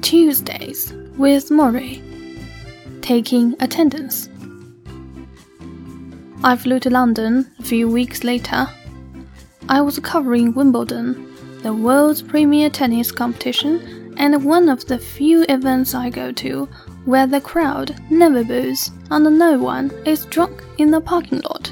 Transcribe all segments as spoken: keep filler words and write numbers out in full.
Tuesdays with Maury. Taking attendance. I flew to London a few weeks later. I was covering Wimbledon, the world's premier tennis competition, and one of the few events I go to where the crowd never boos and no one is drunk in the parking lot.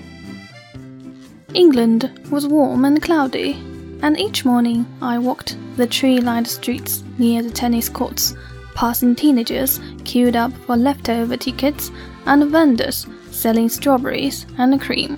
England was warm and cloudy, and each morning I walked the tree-lined streets near the tennis courts, passing teenagers queued up for leftover tickets and vendors selling strawberries and cream.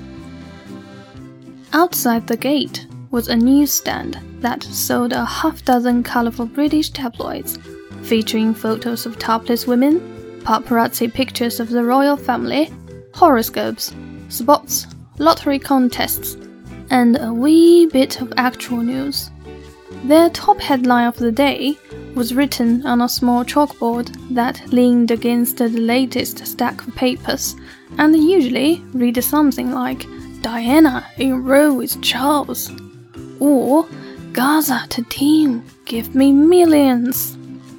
Outside the gate was a newsstand that sold a half-dozen colourful British tabloids, featuring photos of topless women, paparazzi pictures of the royal family, horoscopes, spots, lottery contests, and a wee bit of actual news. Their top headline of the day was written on a small chalkboard that leaned against the latest stack of papers, and usually read something like "Diana in row with Charles," or "Gaza to team, give me millions."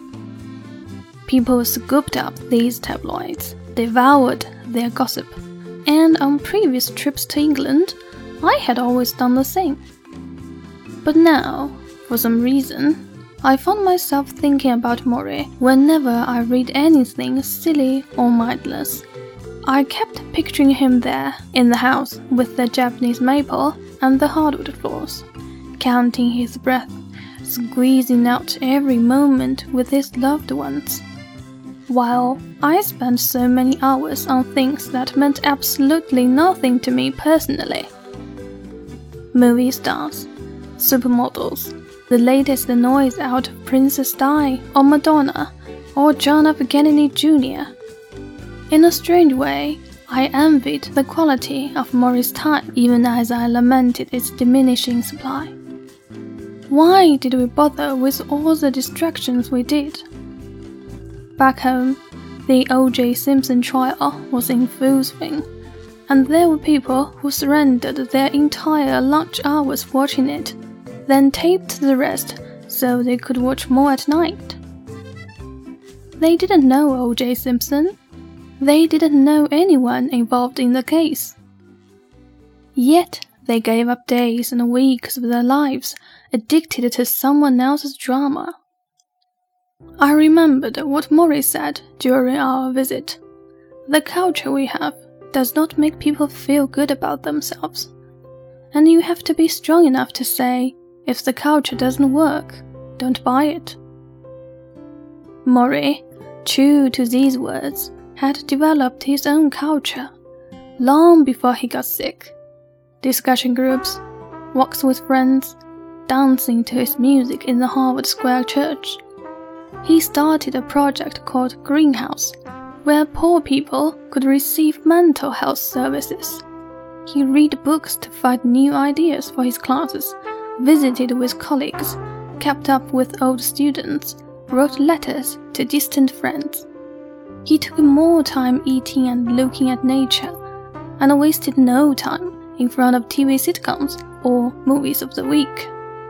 People scooped up these tabloids, devoured their gossip, and on previous trips to England, I had always done the same. But now, for some reason, I found myself thinking about Maury whenever I read anything silly or mindless. I kept picturing him there, in the house with the Japanese maple and the hardwood floors, counting his breath, squeezing out every moment with his loved ones. While I spent so many hours on things that meant absolutely nothing to me personally. Movie stars, supermodels, the latest noise out of Princess Di or Madonna or John F. Kennedy Junior In a strange way, I envied the quality of Maury's time, even as I lamented its diminishing supply. Why did we bother with all the distractions we did? Back home, the O J Simpson trial was in full swing, and there were people who surrendered their entire lunch hours watching it, then taped the rest so they could watch more at night. They didn't know O J Simpson. They didn't know anyone involved in the case. Yet they gave up days and weeks of their lives, addicted to someone else's drama. I remembered what Maury said during our visit. The culture we have does not make people feel good about themselves. And you have to be strong enough to say, if the culture doesn't work, don't buy it. Maury, true to these words, had developed his own culture, long before he got sick. Discussion groups, walks with friends, dancing to his music in the Harvard Square Church. He started a project called Greenhouse, where poor people could receive mental health services. He read books to find new ideas for his classes, visited with colleagues, kept up with old students, wrote letters to distant friends. He took more time eating and looking at nature, and wasted no time in front of T V sitcoms or movies of the week.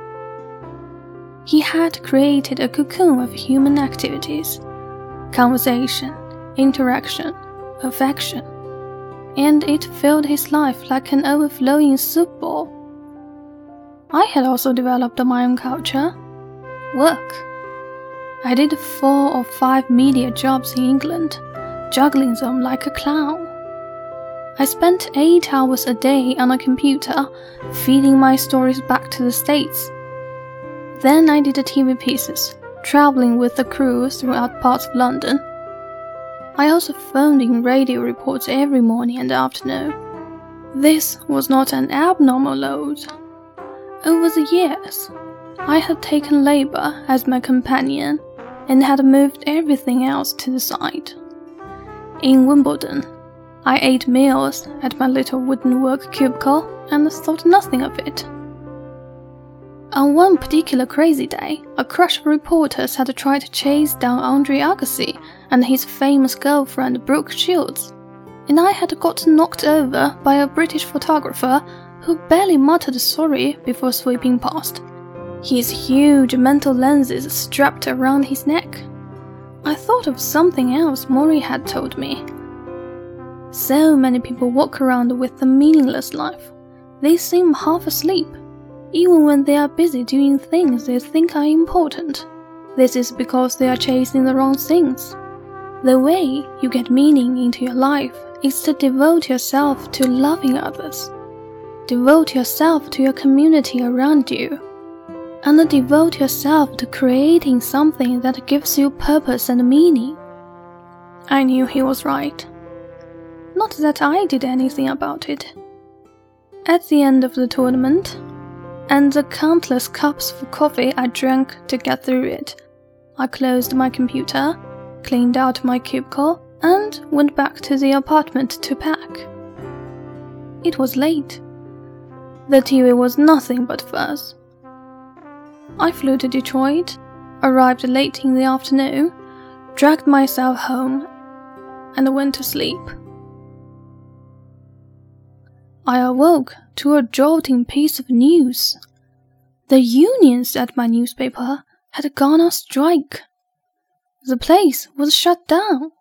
He had created a cocoon of human activities, conversation, interaction, affection, and it filled his life like an overflowing soup bowl. I had also developed my own culture, work. I did four or five media jobs in England, juggling them like a clown. I spent eight hours a day on a computer, feeding my stories back to the States. Then I did T V pieces, traveling with the crew throughout parts of London. I also phoned in radio reports every morning and afternoon. This was not an abnormal load. Over the years, I had taken labor as my companion and had moved everything else to the side. In Wimbledon, I ate meals at my little wooden work cubicle and thought nothing of it. On one particular crazy day, a crush of reporters had tried to chase down Andre Agassi and his famous girlfriend Brooke Shields, and I had got knocked over by a British photographer who barely muttered sorry before sweeping past. his huge mental lenses strapped around his neck. I thought of something else Maury had told me. So many people walk around with a meaningless life. They seem half asleep, even when they are busy doing things they think are important. This is because they are chasing the wrong things. The way you get meaning into your life is to devote yourself to loving others. Devote yourself to your community around you. And devote yourself to creating something that gives you purpose and meaning. I knew he was right. Not that I did anything about it. At the end of the tournament, and the countless cups of coffee I drank to get through it, I closed my computer, cleaned out my cubicle, and went back to the apartment to pack. It was late. The T V was nothing but fuzz. I flew to Detroit, arrived late in the afternoon, dragged myself home, and went to sleep. I awoke to a jolting piece of news. The unions at my newspaper had gone on strike. The place was shut down.